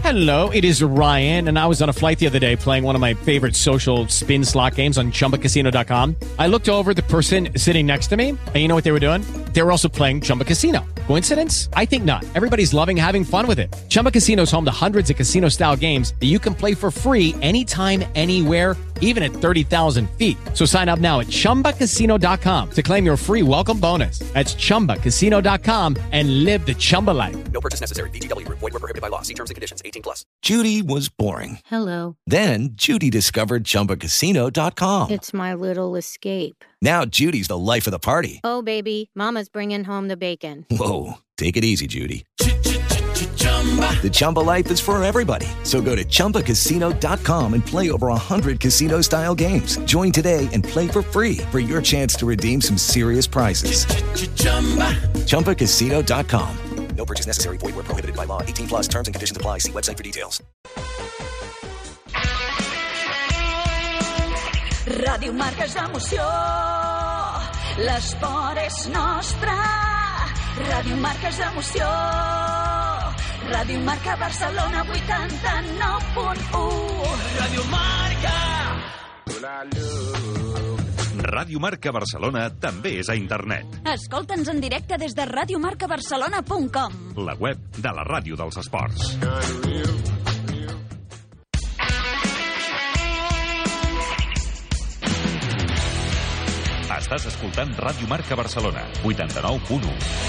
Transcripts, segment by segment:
Hello, it is Ryan, and I was on a flight the other day playing one of my favorite social spin slot games on ChumbaCasino.com. I looked over at the person sitting next to me, and you know what they were doing? They were also playing Chumba Casino. Coincidence? I think not. Everybody's loving having fun with it. Chumba Casino is home to hundreds of casino-style games that you can play for free anytime, anywhere, even at 30,000 feet. So sign up now at ChumbaCasino.com to claim your free welcome bonus. That's ChumbaCasino.com and live the Chumba life. No purchase necessary. VGW. Void were prohibited by law. See terms and conditions. 18+. Judy was boring. Hello. Then Judy discovered ChumbaCasino.com. It's my little escape. Now Judy's the life of the party. Oh, baby, mama's bringing home the bacon. Whoa, take it easy, Judy. The Chumba life is for everybody. So go to ChumbaCasino.com and play over 100 casino-style games. Join today and play for free for your chance to redeem some serious prizes. ChumbaCasino.com. No purchase necessary. Void were prohibited by law. 18+. Terms and conditions apply. See website for details. Ràdio Marca és emoció, l'esport és nostre. Ràdio Marca és emoció, Ràdio Marca Barcelona 89.1. Ràdio Marca. Ràdio Marca Barcelona també és a internet. Escolta'ns en directe des de radiomarcabarcelona.com, La web de la ràdio dels esports. Estàs escoltant Ràdio Marca Barcelona, 89.1.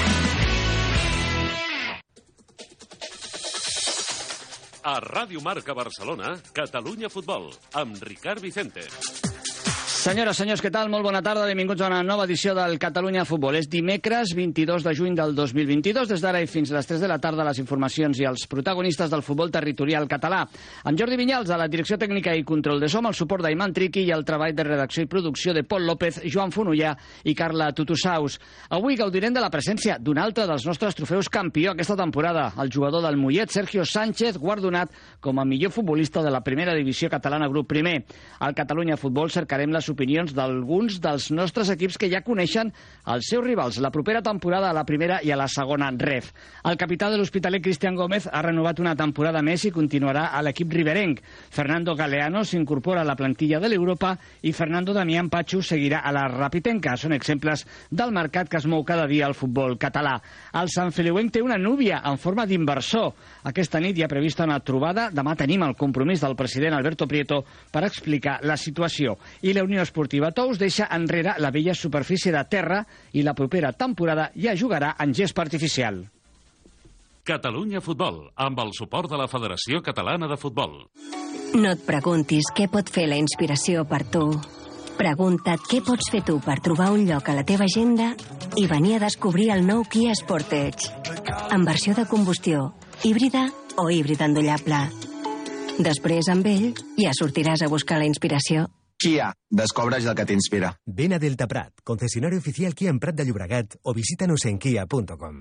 A Ràdio Marca Barcelona, Catalunya Futbol, amb Ricard Vicente. Senyores, senyors, què tal? Molt bona tarda, benvinguts a una nova edició del Catalunya Futbol. És dimecres 22 de juny del 2022. Des d'ara i fins a les 3 de la tarda, les informacions i els protagonistes del futbol territorial català. Amb Jordi Vinyals, a la direcció tècnica i control de so, el suport d'Aiman Triqui i el treball de redacció i producció de Pol López, Joan Fonollà i Carla Tutusaus. Avui gaudirem de la presència d'un altre dels nostres trofeus campió aquesta temporada, el jugador del Mollet, Sergio Sánchez, guardonat com a millor futbolista de la primera divisió catalana grup primer. Al Catalunya Futbol cercarem les opinions d'alguns dels nostres equips que ja coneixen els seus rivals la propera temporada a la primera i a la segona ref. El capità de l'Hospitalet, Cristian Gómez, ha renovat una temporada més i continuarà a l'equip riberenc. Fernando Galeano s'incorpora a la plantilla de l'Europa i Fernando Damián Pachu seguirà a la Rapitenca. Són exemples del mercat que es mou cada dia al futbol català. El Sant Feliuenc té una núvia en forma d'inversor. Aquesta nit hi ha prevista una trobada. Demà tenim el compromís del president Alberto Prieto per explicar la situació. I la Unió Esportiva Tous deixa enrere la vella superfície de terra i la propera temporada ja jugarà en gespa artificial. Catalunya Futbol, amb el suport de la Federació Catalana de Futbol. No et preguntis què pot fer la inspiració per tu. Pregunta't què pots fer tu per trobar un lloc a la teva agenda i venir a descobrir el nou Kia Sportage. En versió de combustió, híbrida o híbrida endollable. Després, amb ell, ja sortiràs a buscar la inspiració. Kia, descobreix el que t'inspira. Ven a Delta Prat, concesionario oficial Kia en Prat de Llobregat o visítanos en kia.com.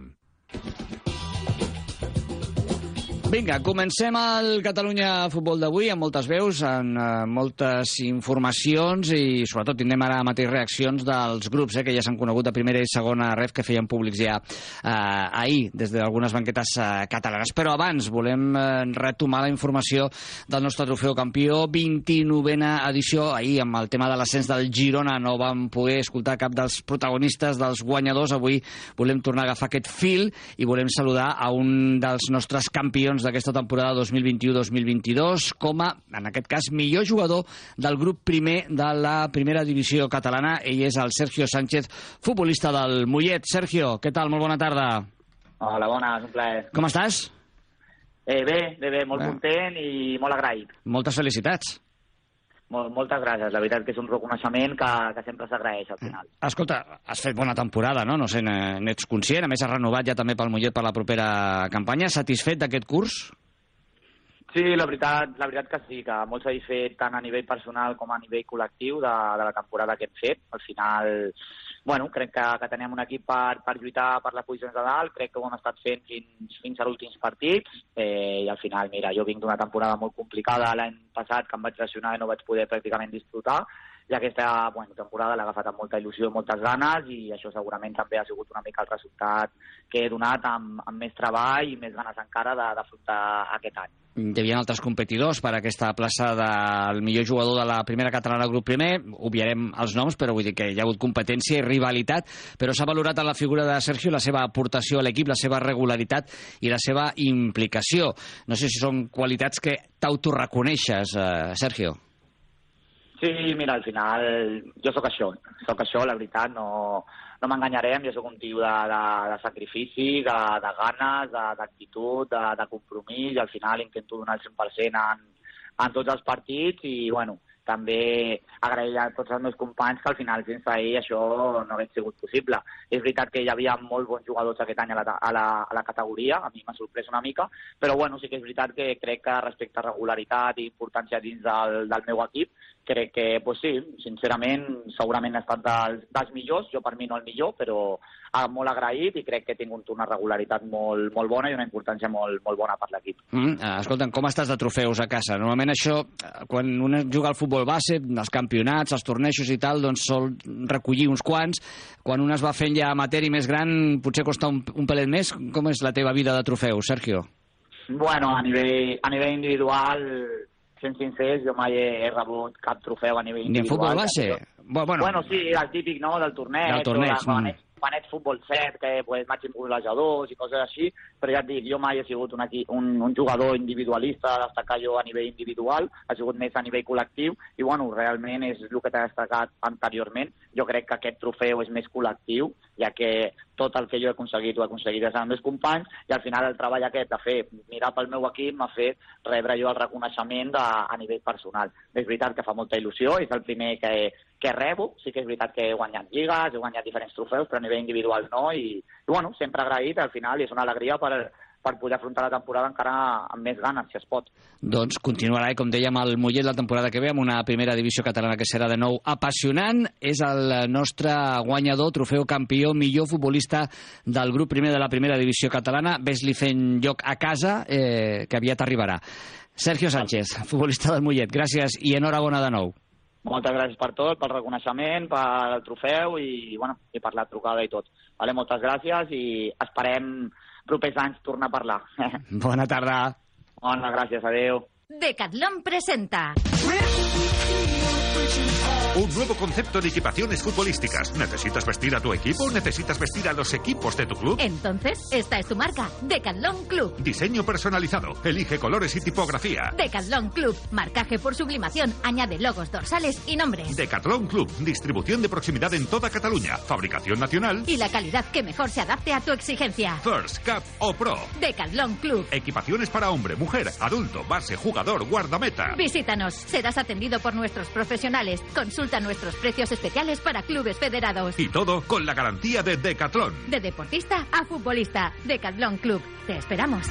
Vinga, comencem el Catalunya Futbol d'avui amb moltes veus, amb moltes informacions i sobretot tindrem ara mateix reaccions dels grups que ja s'han conegut de primera i segona ref que feien públics ja ahir des d'algunes banquetes catalanes. Però abans volem retomar la informació del nostre trofeu campió, 29a edició. Ahir amb el tema de l'ascens del Girona no vam poder escoltar cap dels protagonistes, dels guanyadors. Avui volem tornar a agafar aquest fil i volem saludar a un dels nostres campions d'aquesta temporada 2021-2022 com a, en aquest cas, millor jugador del grup primer de la primera divisió catalana. Ell és el Sergio Sánchez, futbolista del Mollet. Sergio, què tal? Molt bona tarda. Hola, bona, és un plaer. Com estàs? Bé, molt content i molt agraït. Moltes felicitats. Moltes gràcies, la veritat que és un reconeixement que sempre s'agraeix al final. Escolta, has fet bona temporada, no? No sé, n'ets conscient? A més, has renovat ja també pel Mollet per la propera campanya. Satisfet d'aquest curs? Sí, la veritat que sí, que molt satisfet tant a nivell personal com a nivell col·lectiu de la temporada que hem fet. Al final, bueno, crec que tenem un equip per lluitar per les posicions de dalt, crec que ho hem estat fent fins a l'últims partits i al final, mira, jo vinc d'una temporada molt complicada l'any passat que em vaig lesionar i no vaig poder pràcticament disfrutar i aquesta temporada l'ha agafat amb molta il·lusió i moltes ganes, i això segurament també ha sigut una mica el resultat que he donat amb més treball i més ganes encara d'afrontar aquest any. Hi havia altres competidors per a aquesta plaça del millor jugador de la primera catalana grup primer. Obviarem els noms, però vull dir que hi ha hagut competència i rivalitat, però s'ha valorat en la figura de Sergio la seva aportació a l'equip, la seva regularitat i la seva implicació. No sé si són qualitats que t'autoreconeixes, Sergio. Sí, mira, al final jo sóc això, la veritat, no m'enganyarem, jo sóc un tio de sacrifici, de ganes, d'actitud, de compromís, i al final intento donar el 100% en tots els partits, i bueno, també agrair a tots els meus companys que al final sense ells això no hauria sigut possible. És veritat que hi havia molt bons jugadors aquest any a la categoria, a mi m'ha sorprès una mica, però bueno, sí que és veritat que crec que respecte a regularitat i importància dins del meu equip, crec que, pues sí, sincerament, segurament he estat dels millors, jo per mi no el millor, però molt agraït, i crec que he tingut una regularitat molt bona i una importància molt bona per l'equip. Escolta'm, com estàs de trofeus a casa? Normalment això, quan un juga al futbol base, els campionats, els tornejos i tal, doncs sol recollir uns quants. Quan un es va fent ja amateur i més gran, potser costa un pelet més. Com és la teva vida de trofeus, Sergio? Bueno, a nivell individual, sent sincers, jo mai he rebut cap trofeu a nivell individual. Ni en futbol base? Bueno, sí, el típic, no?, del torneig. Quan ets futbol 7, que pues, màxim golejadors i coses així, però ja et dic, jo mai he sigut un jugador individualista, destacar jo a nivell individual, ha sigut més a nivell col·lectiu, i bueno, realment és el que t'he destacat anteriorment. Jo crec que aquest trofeu és més col·lectiu, ja que tot el que jo he aconseguit ho he aconseguit des dels meus companys, i al final el treball aquest de fer mirar pel meu equip m'ha fet rebre jo el reconeixement a nivell personal. És veritat que fa molta il·lusió, és el primer que rebo, sí que és veritat que he guanyat lligues, he guanyat diferents trofeus, però a nivell individual no, i bueno, sempre agraït, al final, i és una alegria per poder afrontar la temporada encara amb més ganes, si es pot. Doncs continuarà, com dèiem, el Mollet la temporada que ve amb una primera divisió catalana que serà de nou apassionant. És el nostre guanyador, trofeu campió, millor futbolista del grup primer de la primera divisió catalana. Ves-li fent lloc a casa, que aviat arribarà. Sergio Sánchez, futbolista del Mollet, gràcies i enhorabona de nou. Moltes gràcies per tot, pel reconeixement, pel trofeu i per la trucada i tot. Moltes gràcies i esperem propers anys tornar a parlar. Bona tarda. Bona, gràcies, adeu. Decathlon presenta... Un nuevo concepto de equipaciones futbolísticas. ¿Necesitas vestir a tu equipo o necesitas vestir a los equipos de tu club? Entonces, esta es tu marca, Decathlon Club. Diseño personalizado. Elige colores y tipografía. Decathlon Club. Marcaje por sublimación. Añade logos dorsales y nombres. Decathlon Club. Distribución de proximidad en toda Cataluña. Fabricación nacional. Y la calidad que mejor se adapte a tu exigencia. First, Cup o Pro. Decathlon Club. Equipaciones para hombre, mujer, adulto, base, jugador, guardameta. Visítanos. Serás atendido por nuestros profesionales. Consulta nuestros precios especiales para clubes federados. Y todo con la garantía de Decathlon. De deportista a futbolista. Decathlon Club. Te esperamos.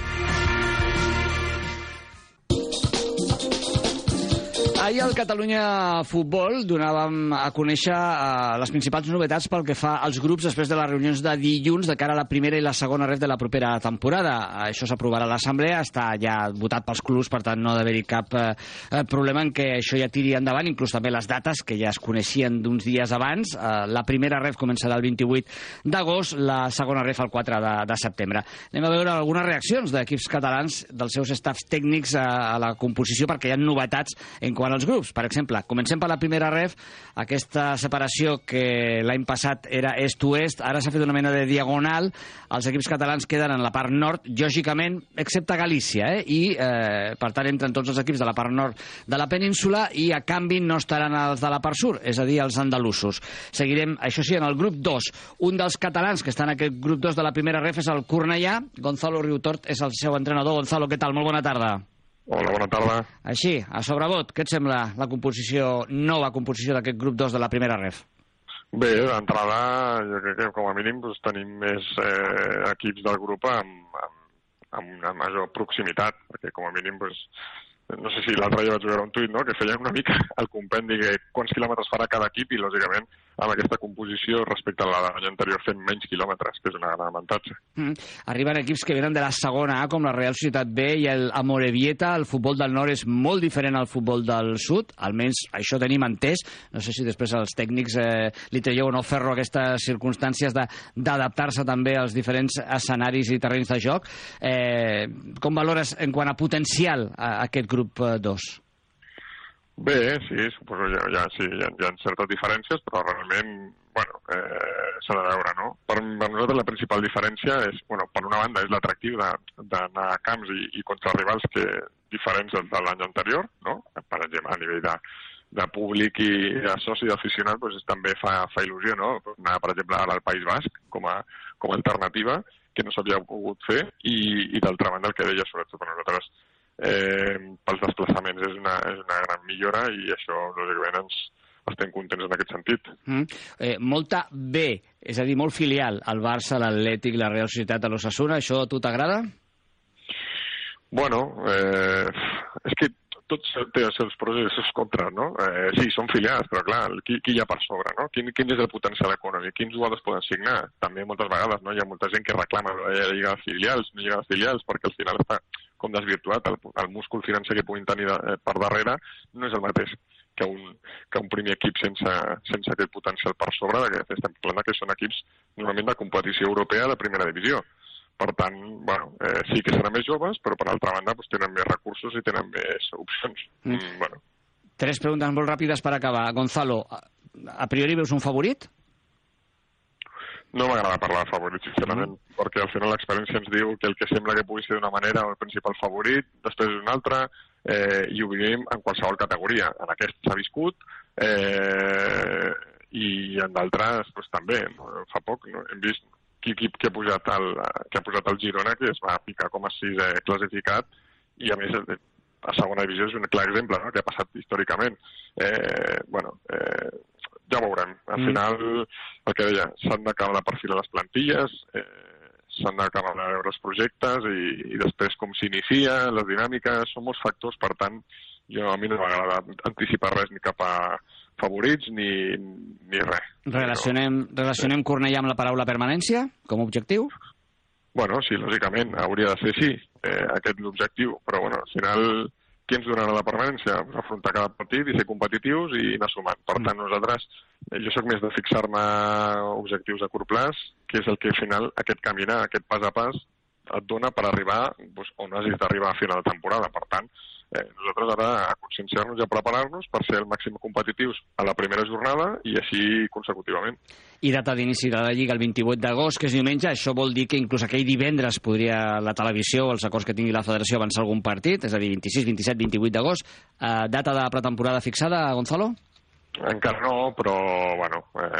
Ahir al Catalunya Futbol donàvem a conèixer les principals novetats pel que fa als grups després de les reunions de dilluns de cara a la primera i la segona ref de la propera temporada. Això s'aprovarà a l'Assemblea, està ja votat pels clubs, per tant no ha d'haver-hi cap problema en què això ja tiri endavant, inclús també les dates que ja es coneixien d'uns dies abans. La primera ref començarà el 28 d'agost, la segona ref el 4 de setembre. Anem a veure algunes reaccions d'equips catalans, dels seus staffs tècnics a la composició, perquè hi ha novetats en quant als grups. Per exemple, comencem per la primera ref, aquesta separació que l'any passat era est-oest, ara s'ha fet una mena de diagonal, els equips catalans queden en la part nord, lògicament, excepte Galícia, i per tant entren tots els equips de la part nord de la península i a canvi no estaran els de la part sud, és a dir, els andalusos. Seguirem, això sí, en el grup 2. Un dels catalans que està en aquest grup 2 de la primera ref és el Cornellà. Gonzalo Riutort és el seu entrenador. Gonzalo, què tal? Molt bona tarda. Hola, bona tarda. Així, a sobrevot, què et sembla la nova composició d'aquest grup 2 de la primera ref? Bé, d'entrada, jo crec que com a mínim tenim més equips del grup amb una major proximitat, perquè com a mínim no sé si l'altre dia vaig veure un tuit, no?, que feien una mica el compendi de quants quilòmetres farà cada equip i, lògicament, amb aquesta composició respecte a l'any anterior fent menys quilòmetres, que és un gran avantatge. Arriben equips que venen de la segona A, com la Real Societat B i el Amorebieta. El futbol del nord és molt diferent al futbol del sud, almenys això tenim entès. No sé si després els tècnics li traieu o no ferro aquestes circumstàncies d'adaptar-se també als diferents escenaris i terrenys de joc. Com valores en quant a potencial aquest grup 2? Bé, sí, suposo que hi ha certes diferències, però realment, bueno, s'ha de veure, no? Per nosaltres la principal diferència és, bueno, per una banda és l'atractiu d'anar a camps i contra rivals diferents de l'any anterior, no? Per exemple, a nivell de públic i de soci d'aficionat, doncs també fa il·lusió, no? Anar, per exemple, ara al País Basc com a alternativa, que no s'havia pogut fer, i d'altra banda el que deia, sobretot per nosaltres, pels desplaçaments és una gran millora i això, lògicament, estem contents en aquest sentit. Molta B, és a dir, molt filial, el Barça, l'Atlètic, la Real Societat, l'Osasuna, això a tu t'agrada? Bueno, és que tot té els seus pros i els seus contres, no? Sí, són filials, però clar, qui hi ha per sobre, no? Quin és el potencial econòmic? Quins jugadors poden signar? També moltes vegades, no? Hi ha molta gent que reclama la Lliga de Filials, no Lliga de Filials, perquè al final està com desvirtuat, el múscul financer que puguin tenir per darrere no és el mateix que un primer equip sense aquest potencial per sobre, que estem parlant que són equips normalment de competició europea de primera divisió. Per tant, bueno, sí que seran més joves, però per altra banda tenen més recursos i tenen més opcions. Bueno. 3 preguntes molt ràpides per acabar. Gonzalo, a priori veus un favorit? No m'agrada parlar de favorit, sincerament, perquè al final l'experiència ens diu que el que sembla que pugui ser d'una manera el principal favorit, després és una altra, i ho vivim en qualsevol categoria. En aquest s'ha viscut, i en d'altres també. Fa poc hem vist equip que ha pujat al Girona, que es va ficar com a 6è classificat, i a més a segona divisió és un clar exemple, no?, que ha passat històricament. Ja ho veurem. Al final, el que deia, s'han d'acabar de perfilar les plantilles, s'han d'acabar de veure els projectes i després com s'inicia, les dinàmiques, són molts factors, per tant, a mi no m'agrada anticipar res ni cap a favorits ni res. Relacionem Cornellà amb la paraula permanència com a objectiu? Bueno, sí, lògicament, hauria de ser sí, aquest l'objectiu, però bueno, al final qui ens donarà la permanència? Afrontar cada partit i ser competitius i anar sumant. Per tant, nosaltres, jo sóc més de fixar-me objectius a curt plaç, que és el que al final aquest caminar, aquest pas a pas, et dona per arribar on has d'arribar a final de temporada. Per tant, nosaltres ara a conscienciar-nos i a preparar-nos per ser el màxim competitius a la primera jornada i així consecutivament. I data d'inici de la Lliga el 28 d'agost, que és diumenge. Això vol dir que inclús aquell divendres podria la televisió o els acords que tingui la federació avançar algun partit, és a dir, 26, 27, 28 d'agost. Data de pretemporada fixada, Gonzalo? Encara no, però, bueno,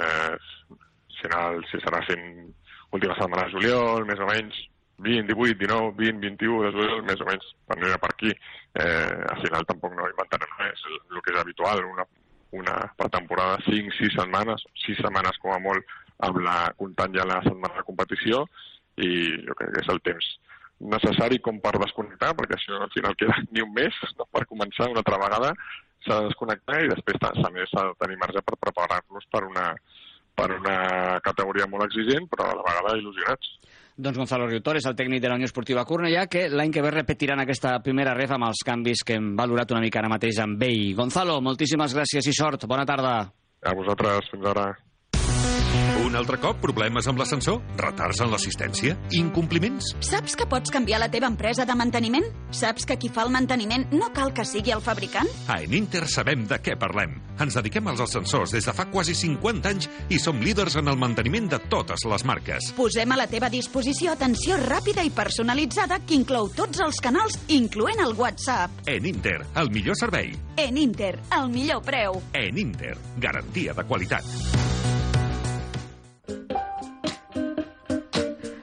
si serà fent última setmana de juliol, més o menys, 20, 18, 19, 20, 21 de juliol, més o menys, per no ir per aquí. Al final tampoc no inventarem res, el que és habitual, una pretemporada 5, 6 setmanes com a molt, comptant ja la setmana de competició, i jo crec que és el temps necessari com per desconnectar, perquè això al final queda ni un mes, no? Per començar una altra vegada s'ha de desconnectar i després s'ha de tenir marge per preparar-nos per una categoria molt exigent, però a la vegada il·lusionats. Doncs Gonzalo Riutor és el tècnic de la Unió Esportiva Cornellà, que l'any que ve repetiran aquesta primera ref amb els canvis que hem valorat una mica ara mateix amb ell. Gonzalo, moltíssimes gràcies i sort. Bona tarda. A vosaltres, fins ara. Un altre cop, problemes amb l'ascensor? Retards en l'assistència? Incompliments? Saps que pots canviar la teva empresa de manteniment? Saps que qui fa el manteniment no cal que sigui el fabricant? A Eninter sabem de què parlem. Ens dediquem als ascensors des de fa quasi 50 anys i som líders en el manteniment de totes les marques. Posem a la teva disposició atenció ràpida i personalitzada que inclou tots els canals, incloent el WhatsApp. Eninter, el millor servei. Eninter, el millor preu. Eninter, garantia de qualitat.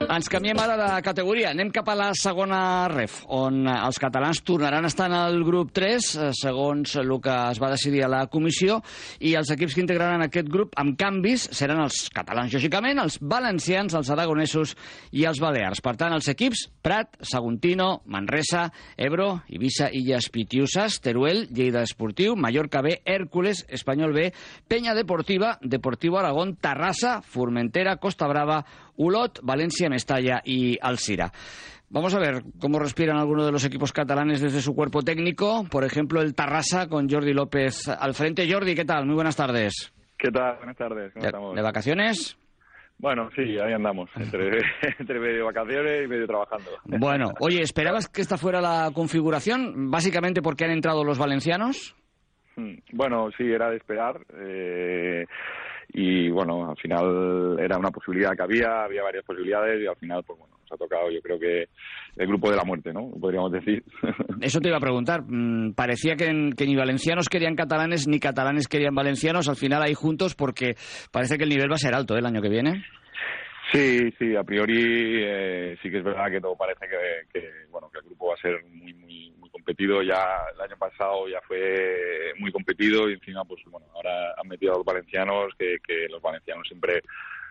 Ens canviem ara de categoria. Anem cap a la segona ref, on els catalans tornaran a estar en el grup 3, segons el que es va decidir a la comissió, i els equips que integraran aquest grup amb canvis seran els catalans, lògicament, els valencians, els aragonesos i els balears. Per tant, els equips Prat, Saguntino, Manresa, Ebro, Eivissa, Illes Pitiusas, Teruel, Lleida Esportiu, Mallorca B, Hércules, Espanyol B, Peña Deportiva, Deportivo Aragón, Tarrasa, Formentera, Costa Brava, Olot, Valencia, Mestalla y Alcira. Vamos a ver cómo respiran algunos de los equipos catalanes desde su cuerpo técnico. Por ejemplo, el Tarrasa con Jordi López al frente. Jordi, ¿qué tal? Muy buenas tardes. ¿Qué tal? Buenas tardes. ¿Cómo estamos? ¿De vacaciones? Bueno, sí, ahí andamos, entre medio vacaciones y medio trabajando. Bueno, oye, ¿esperabas que esta fuera la configuración? Básicamente porque han entrado los valencianos. Bueno, sí, era de esperar. Y bueno, al final era una posibilidad que había varias posibilidades y al final, pues bueno, nos ha tocado, yo creo que el grupo de la muerte, ¿no? Podríamos decir. Eso te iba a preguntar. Parecía que ni valencianos querían catalanes ni catalanes querían valencianos. Al final ahí juntos porque parece que el nivel va a ser alto el año que viene. Sí, a priori sí que es verdad que todo parece que el grupo va a ser muy competido. Ya el año pasado ya fue muy competido y encima pues bueno, ahora han metido a los valencianos, que los valencianos siempre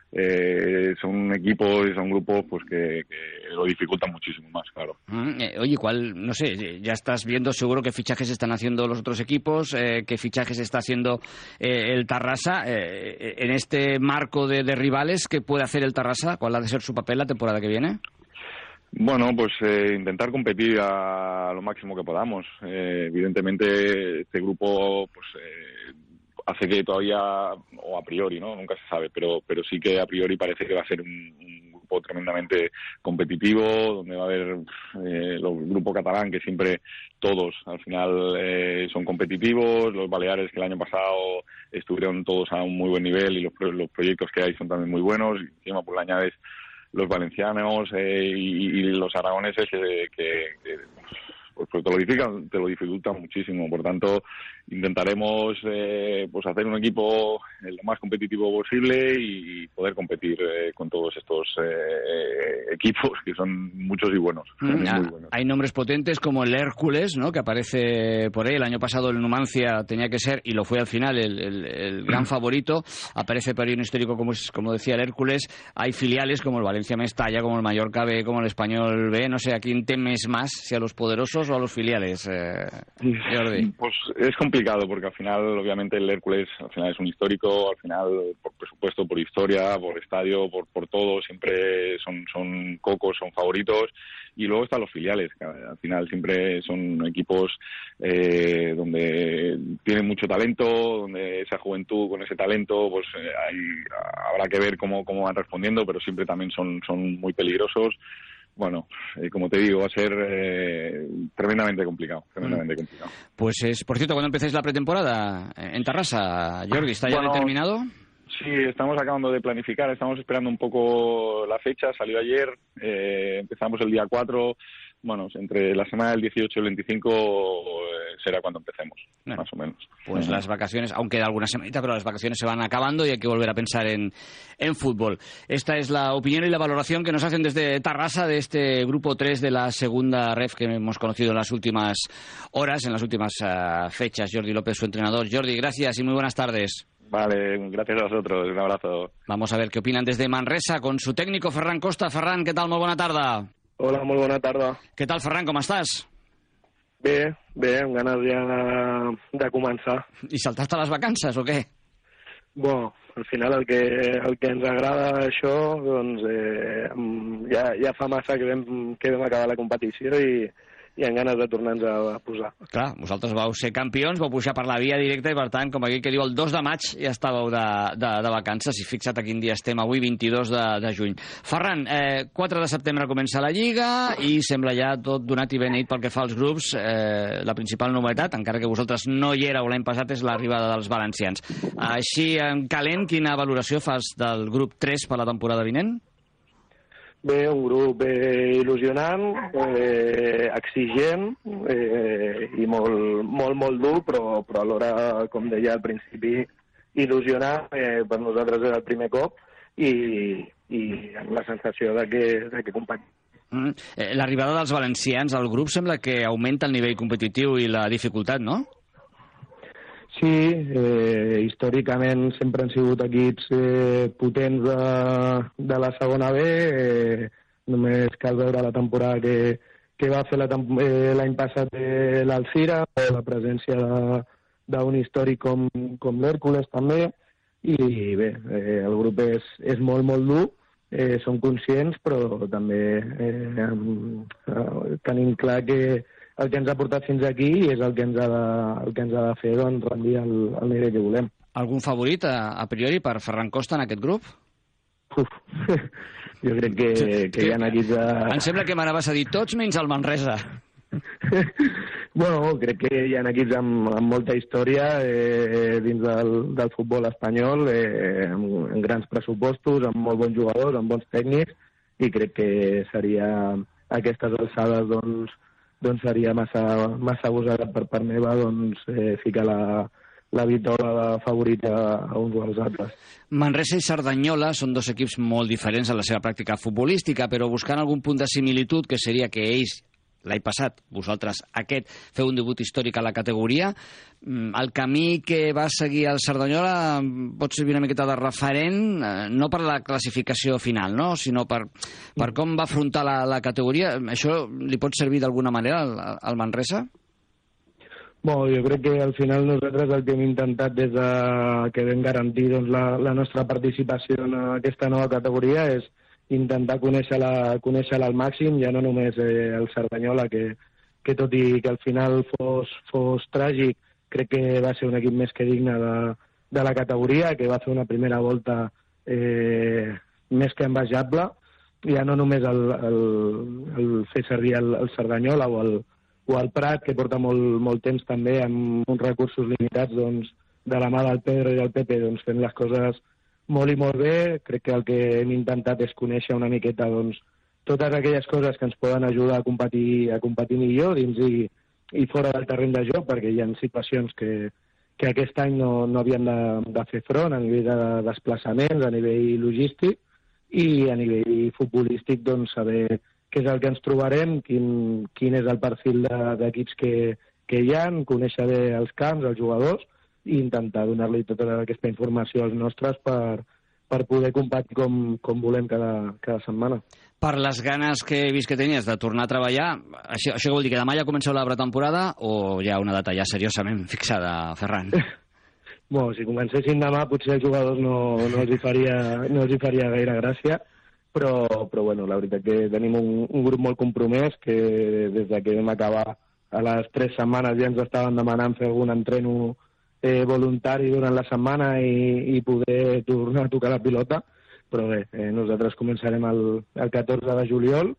son equipos y son grupos pues que lo dificultan muchísimo más, claro. Oye, no sé, ya estás viendo seguro qué fichajes están haciendo los otros equipos, qué fichajes está haciendo el Tarrasa, en este marco de rivales, ¿qué puede hacer el Tarrasa? ¿Cuál ha de ser su papel la temporada que viene? Bueno, pues intentar competir a lo máximo que podamos. Evidentemente este grupo pues hace que todavía, o a priori, ¿no? Nunca se sabe, pero sí que a priori parece que va a ser un grupo tremendamente competitivo, donde va a haber el grupo catalán, que siempre todos al final son competitivos, los baleares que el año pasado estuvieron todos a un muy buen nivel y los proyectos que hay son también muy buenos, y encima pues le añades los valencianos y los aragoneses que pues te lo dificultan muchísimo. Por tanto, intentaremos pues hacer un equipo lo más competitivo posible y poder competir con todos estos equipos, que son muchos y buenos. Muy buenos. Hay nombres potentes como el Hércules, ¿no?, que aparece por ahí. El año pasado el Numancia tenía que ser, y lo fue al final, el gran favorito. Aparece por ahí un histórico como decía el Hércules. Hay filiales como el Valencia Mestalla, como el Mallorca B, como el Español B. No sé, ¿a quién temes más? ¿Si a los poderosos o a los filiales, Jordi? Pues es complicado, porque al final, obviamente, el Hércules al final es un histórico, al final, por presupuesto, por historia, por estadio, por todo, siempre son cocos, son favoritos. Y luego están los filiales, que al final siempre son equipos donde tienen mucho talento, donde esa juventud con ese talento, pues habrá que ver cómo van respondiendo, pero siempre también son muy peligrosos. Bueno, como te digo, va a ser tremendamente complicado. Pues por cierto, ¿cuándo empezáis la pretemporada en Tarrasa, Jordi? ¿Está ya determinado? Sí, estamos acabando de planificar, estamos esperando un poco la fecha, salió ayer, empezamos el día 4, bueno, entre la semana del 18 y el 25 será cuando empecemos, más o menos. Pues las vacaciones, aún queda alguna semanita, pero las vacaciones se van acabando y hay que volver a pensar en fútbol. Esta es la opinión y la valoración que nos hacen desde Tarrasa de este grupo 3 de la segunda ref que hemos conocido en las últimas horas, en las últimas fechas. Jordi López, su entrenador. Jordi, gracias y muy buenas tardes. Vale, gracias a vosotros, un abrazo. Vamos a ver qué opinan desde Manresa con su técnico Ferran Costa. Ferran, què tal? Molt bona tarda. Hola, molt bona tarda. Què tal, Ferran, com estàs? Bé, amb ganes ja de començar. I saltar-te les vacances o què? Bueno, al final el que ens agrada això, doncs ja fa massa que vam acabar la competició i amb ganes de tornar-nos a posar. Clar, vosaltres vau ser campions, vau pujar per la via directa i, per tant, com aquell que diu, el 2 de maig ja estàveu de vacances, i fixa't a quin dia estem avui, 22 de juny. Ferran, 4 de setembre comença la Lliga i sembla ja tot donat i beneït pel que fa als grups. La principal novetat, encara que vosaltres no hi éreu l'any passat, és l'arribada dels valencians. Així, en calent, quina valoració fas del grup 3 per la temporada vinent? Bé, un grup il·lusionant, exigent i molt dur, però alhora, com deia al principi, il·lusionant. Per nosaltres és el primer cop i amb la sensació de que competim. L'arribada dels valencians al grup sembla que augmenta el nivell competitiu i la dificultat, no? Sí, històricament sempre han sigut equips potents de la segona B. Només cal veure la temporada que va fer l'any passat l'Alcira, la presència d'un històric com l'Hèrcules també. I bé, el grup és molt, molt dur. Som conscients, però també tenim clar que el que ens ha portat fins aquí és el que ens ha de fer rendir el nivell que volem. Algun favorit, a priori, per Ferran Costa en aquest grup? Jo crec que hi ha equips... Em sembla que m'anaves a dir tots menys el Manresa. Bueno, crec que hi ha equips amb molta història dins del futbol espanyol, amb grans pressupostos, amb molt bons jugadors, amb bons tècnics, i crec que seria a aquestes alçades doncs seria massa gosada per part meva ficar la vitola favorita a uns o als altres. Manresa i Cerdanyola són dos equips molt diferents en la seva pràctica futbolística, però buscant algun punt de similitud, que seria que ells l'any passat, vosaltres aquest, feu un debut històric a la categoria. El camí que va seguir el Cerdanyola pot servir una miqueta de referent, no per la classificació final, no? Sinó per com va afrontar la categoria. Això li pot servir d'alguna manera al Manresa? Bueno, jo crec que al final nosaltres el que hem intentat des que vam garantir la nostra participació en aquesta nova categoria és intentar conèixer-la al màxim, ja no només el Cerdanyola, que tot i que al final fos tràgic, crec que va ser un equip més que digne de la categoria, que va fer una primera volta més que envejable, ja no només el fer servir el Cerdanyola o el Prat, que porta molt temps també amb uns recursos limitats, de la mà del Pedro i del Pepe, fent les coses molt i molt bé. Crec que el que hem intentat és conèixer una miqueta totes aquelles coses que ens poden ajudar a competir millor dins i fora del terreny de joc, perquè hi ha situacions que aquest any no havien de fer front a nivell de desplaçaments, a nivell logístic i a nivell futbolístic, saber què és el que ens trobarem, quin és el perfil d'equips que hi ha, conèixer bé els camps, els jugadors, i intentar donar-li tota aquesta informació als nostres per poder competir com volem cada setmana. Per les ganes que he vist que tenies de tornar a treballar, això vol dir que demà ja comenceu la pretemporada o hi ha una data ja seriosament fixada, Ferran? Bueno, si comencessin demà potser als jugadors no els hi faria gaire gràcia, però bueno, la veritat que tenim un grup molt compromès que des que vam acabar a les 3 setmanes ja ens estaven demanant fer algun entreno voluntari durant la setmana i poder tornar a tocar la pilota, però bé, nosaltres començarem el 14 de juliol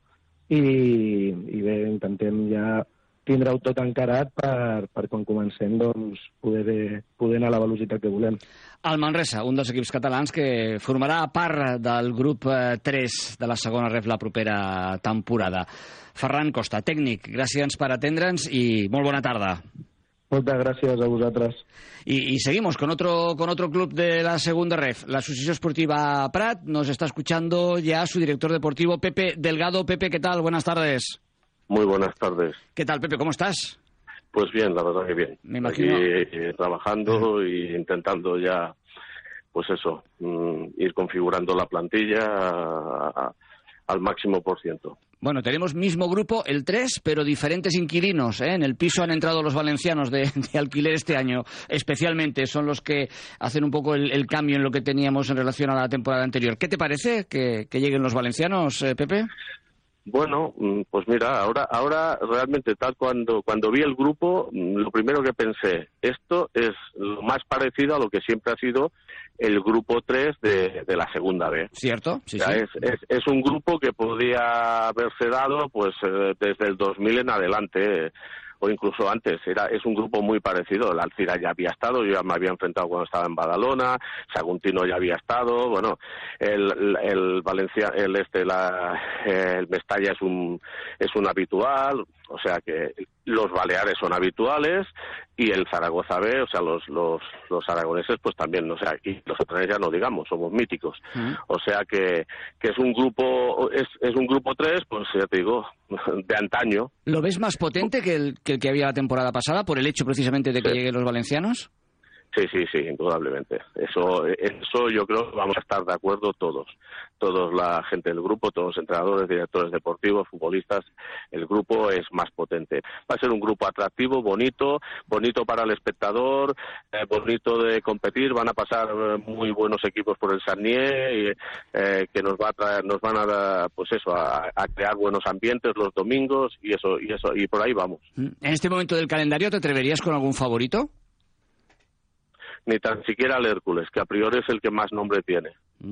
i bé, intentem ja tindre-ho tot encarat per quan comencem poder anar a la velocitat que volem. El Manresa, un dels equips catalans que formarà part del grup 3 de la segona ref la propera temporada. Ferran Costa, tècnic, gràcies per atendre'ns i molt bona tarda. Muchas gracias a vosotros. Y seguimos con otro club de la segunda ref, la Asociación Esportiva Prat. Nos está escuchando ya su director deportivo, Pepe Delgado. Pepe, ¿qué tal? Buenas tardes. Muy buenas tardes. ¿Qué tal, Pepe? ¿Cómo estás? Pues bien, la verdad que bien. Me imagino. Aquí, trabajando e intentando ya, pues eso, ir configurando la plantilla al máximo %. Bueno, tenemos mismo grupo, el 3, pero diferentes inquilinos. En el piso han entrado los valencianos de alquiler este año, especialmente. Son los que hacen un poco el cambio en lo que teníamos en relación a la temporada anterior. ¿Qué te parece que lleguen los valencianos, Pepe? Bueno, pues mira, ahora realmente cuando vi el grupo, lo primero que pensé, esto es lo más parecido a lo que siempre ha sido el grupo 3 de la segunda B. ¿Cierto? Sí, o sea, sí. Es un grupo que podía haberse dado pues desde el 2000 en adelante, o incluso antes. Es un grupo muy parecido. El Alcira ya había estado, yo ya me había enfrentado cuando estaba en Badalona, Saguntino ya había estado, bueno, el Valencia, el Mestalla es un habitual, o sea que los Baleares son habituales, y el Zaragoza B, o sea, los aragoneses pues también, o sea, y los catalanes ya no digamos, somos míticos. O sea que es un grupo 3, pues ya te digo, de antaño. ¿Lo ves más potente que el que había la temporada pasada por el hecho precisamente de que lleguen los valencianos? Sí, indudablemente. Eso yo creo que vamos a estar de acuerdo todos la gente del grupo, todos los entrenadores, directores deportivos, futbolistas. El grupo es más potente. Va a ser un grupo atractivo, bonito para el espectador, bonito de competir. Van a pasar muy buenos equipos por el Sarnier, que nos van a pues eso, a crear buenos ambientes los domingos y por ahí vamos. En este momento del calendario, ¿te atreverías con algún favorito? Ni tan siquiera el Hércules, que a priori es el que más nombre tiene.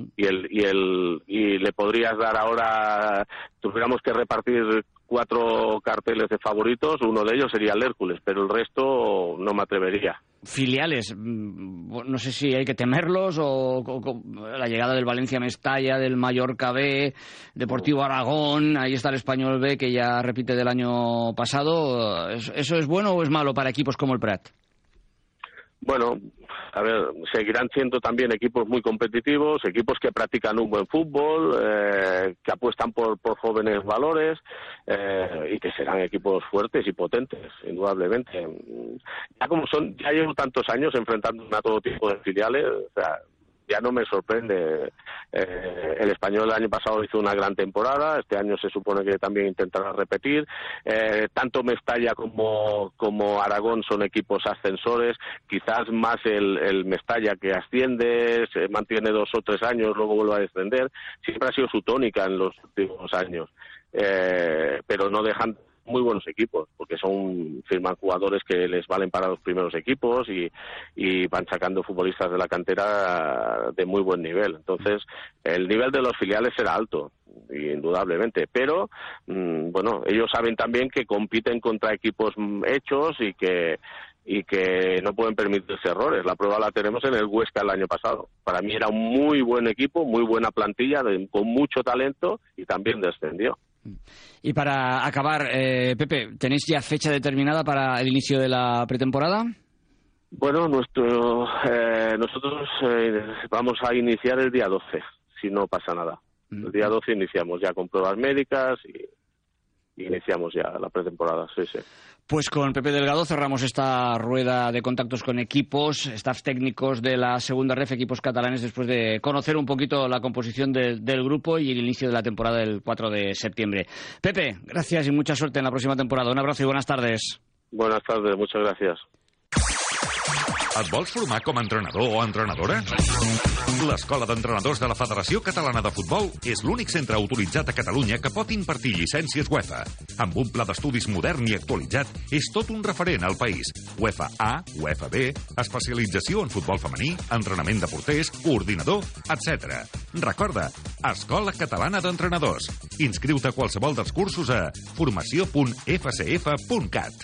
Y le podrías dar ahora, tuviéramos que repartir 4 carteles de favoritos, uno de ellos sería el Hércules, pero el resto no me atrevería. Filiales, no sé si hay que temerlos o la llegada del Valencia Mestalla, del Mallorca B, Deportivo Aragón, ahí está el Español B que ya repite del año pasado. ¿Eso es bueno o es malo para equipos como el Prat? Bueno, a ver, seguirán siendo también equipos muy competitivos, equipos que practican un buen fútbol, que apuestan por jóvenes valores y que serán equipos fuertes y potentes, indudablemente. Ya llevo tantos años enfrentándome a todo tipo de filiales, o sea, ya no me sorprende. El Español el año pasado hizo una gran temporada, este año se supone que también intentará repetir. Tanto Mestalla como Aragón son equipos ascensores, quizás más el Mestalla que asciende, se mantiene 2 o 3 años, luego vuelve a descender. Siempre ha sido su tónica en los últimos años, pero no dejan muy buenos equipos, porque firman jugadores que les valen para los primeros equipos y van sacando futbolistas de la cantera de muy buen nivel. Entonces, el nivel de los filiales será alto, indudablemente, pero bueno, ellos saben también que compiten contra equipos hechos y que no pueden permitirse errores. La prueba la tenemos en el Huesca el año pasado. Para mí era un muy buen equipo, muy buena plantilla, con mucho talento y también descendió. Y para acabar, Pepe, ¿tenéis ya fecha determinada para el inicio de la pretemporada? Bueno, nosotros vamos a iniciar el día 12, si no pasa nada. El día 12 iniciamos ya con pruebas médicas y iniciamos ya la pretemporada, sí. Pues con Pepe Delgado cerramos esta rueda de contactos con equipos, staffs técnicos de la segunda ref, equipos catalanes, después de conocer un poquito la composición del grupo y el inicio de la temporada del 4 de septiembre. Pepe, gracias y mucha suerte en la próxima temporada. Un abrazo y buenas tardes. Buenas tardes, muchas gracias. Et vols formar com a entrenador o entrenadora? L'Escola d'Entrenadors de la Federació Catalana de Futbol és l'únic centre autoritzat a Catalunya que pot impartir llicències UEFA. Amb un pla d'estudis modern i actualitzat, és tot un referent al país. UEFA A, UEFA B, especialització en futbol femení, entrenament de porters, coordinador, etc. Recorda, Escola Catalana d'Entrenadors. Inscriu-te a qualsevol dels cursos a formació.fcf.cat.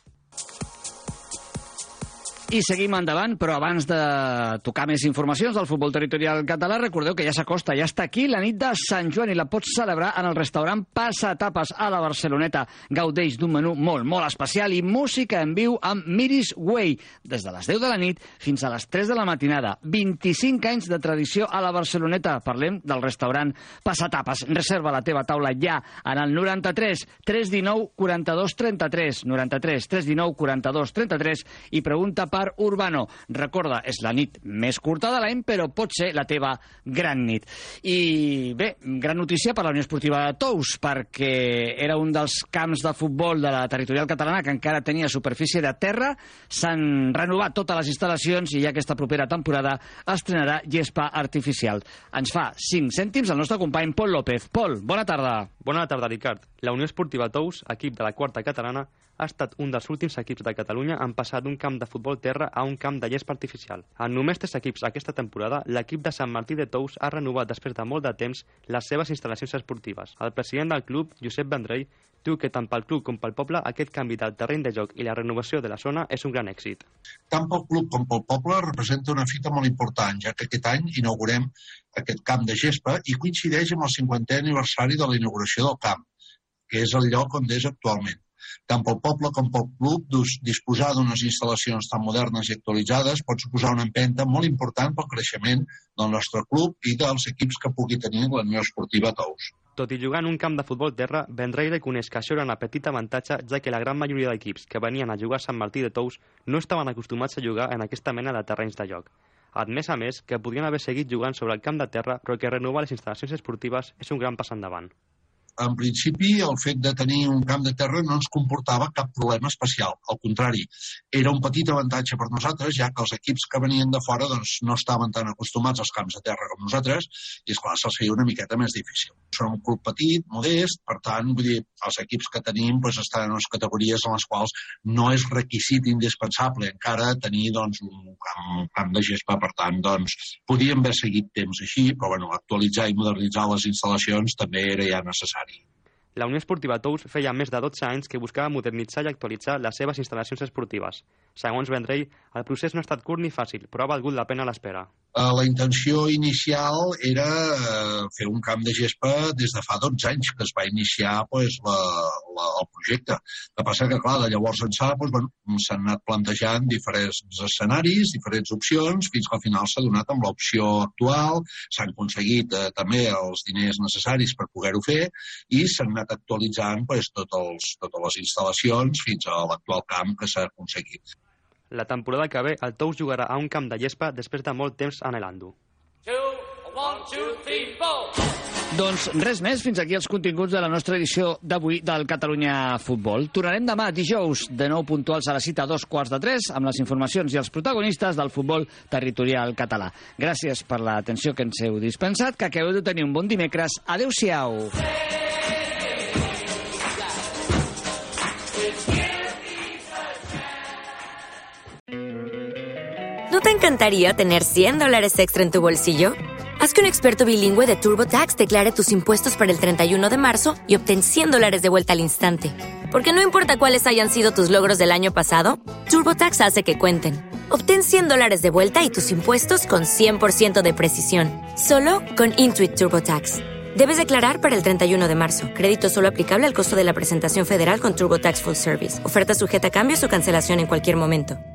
I seguim endavant, però abans de tocar més informacions del futbol territorial català, recordeu que ja s'acosta, ja està aquí la nit de Sant Joan i la pots celebrar en el restaurant Passatapes a la Barceloneta. Gaudeix d'un menú molt especial i música en viu amb Miris Way, des de les 10 de la nit fins a les 3 de la matinada. 25 anys de tradició a la Barceloneta. Parlem del restaurant Passatapes. Reserva la teva taula ja en el 93 319 42 33, 93 319 42 33 i pregunta per Urbano. Recorda, és la nit més curta de l'any, però pot ser la teva gran nit. I bé, gran notícia per la Unió Esportiva de Tous, perquè era un dels camps de futbol de la territorial catalana que encara tenia superfície de terra. S'han renovat totes les instal·lacions i ja aquesta propera temporada estrenarà gespa artificial. Ens fa 5 cèntims el nostre company Pol López. Pol, bona tarda. Bona tarda, Ricard. La Unió Esportiva Tous, equip de la quarta catalana, ha estat un dels últims equips de Catalunya en passar d'un camp de futbol terra a un camp de gespa artificial. En només 3 equips aquesta temporada, l'equip de Sant Martí de Tous ha renovat després de molt de temps les seves instal·lacions esportives. El president del club, Josep Vendrell, diu que tant pel club com pel poble aquest canvi del terreny de joc i la renovació de la zona és un gran èxit. Tant pel club com pel poble representa una fita molt important, ja que aquest any inaugurem aquest camp de gespa i coincideix amb el 50è aniversari de la inauguració del camp, que és el lloc on és actualment. Tant pel poble com pel club, disposar d'unes instal·lacions tan modernes i actualitzades pot suposar una empenta molt important pel creixement del nostre club i dels equips que pugui tenir la Unió Esportiva Tous. Tot i jugar en un camp de futbol terra, Vendrell reconeix que això era una petita avantatge, ja que la gran majoria d'equips que venien a jugar a Sant Martí de Tous no estaven acostumats a jugar en aquesta mena de terrenys de joc. A més, que podrien haver seguit jugant sobre el camp de terra, però que renovar les instal·lacions esportives és un gran pas endavant. En principi, el fet de tenir un camp de terra no ens comportava cap problema especial. Al contrari, era un petit avantatge per nosaltres, ja que els equips que venien de fora no estaven tan acostumats als camps de terra com nosaltres, i esclar, se'ls feia una miqueta més difícil. Som un club petit, modest, per tant, vull dir, els equips que tenim estan en les categories en les quals no és requisit indispensable encara tenir un camp de gespa, per tant, podíem haver seguit temps així, però actualitzar i modernitzar les instal·lacions també era ja necessari. La Unió Esportiva Tous feia més de 12 anys que buscava modernitzar i actualitzar les seves instal·lacions esportives. Segons Vendrell, el procés no ha estat curt ni fàcil, però ha valgut la pena l'espera. La intenció inicial era fer un camp de gespa des de fa 12 anys que es va iniciar el projecte. El que passa que, clar, de llavors ençà s'han anat plantejant diferents escenaris, diferents opcions, fins que al final s'ha donat amb l'opció actual, s'han aconseguit també els diners necessaris per poder-ho fer i s'han anat actualitzant totes les instal·lacions fins a l'actual camp que s'ha aconseguit. La temporada que ve, el Tous jugarà a un camp de gespa després de molt temps anhelant-ho. Doncs res més, fins aquí els continguts de la nostra edició d'avui del Catalunya Futbol. Tornarem demà, dijous, de nou puntuals a la cita 2:15, amb les informacions i els protagonistes del futbol territorial català. Gràcies per l'atenció que ens heu dispensat, que acabeu de tenir un bon dimecres. Adéu-siau. ¿No te encantaría tener $100 extra en tu bolsillo? Haz que un experto bilingüe de TurboTax declare tus impuestos para el 31 de marzo y obtén $100 de vuelta al instante. Porque no importa cuáles hayan sido tus logros del año pasado, TurboTax hace que cuenten. Obtén $100 de vuelta y tus impuestos con 100% de precisión. Solo con Intuit TurboTax. Debes declarar para el 31 de marzo. Crédito solo aplicable al costo de la presentación federal con TurboTax Full Service. Oferta sujeta a cambios o cancelación en cualquier momento.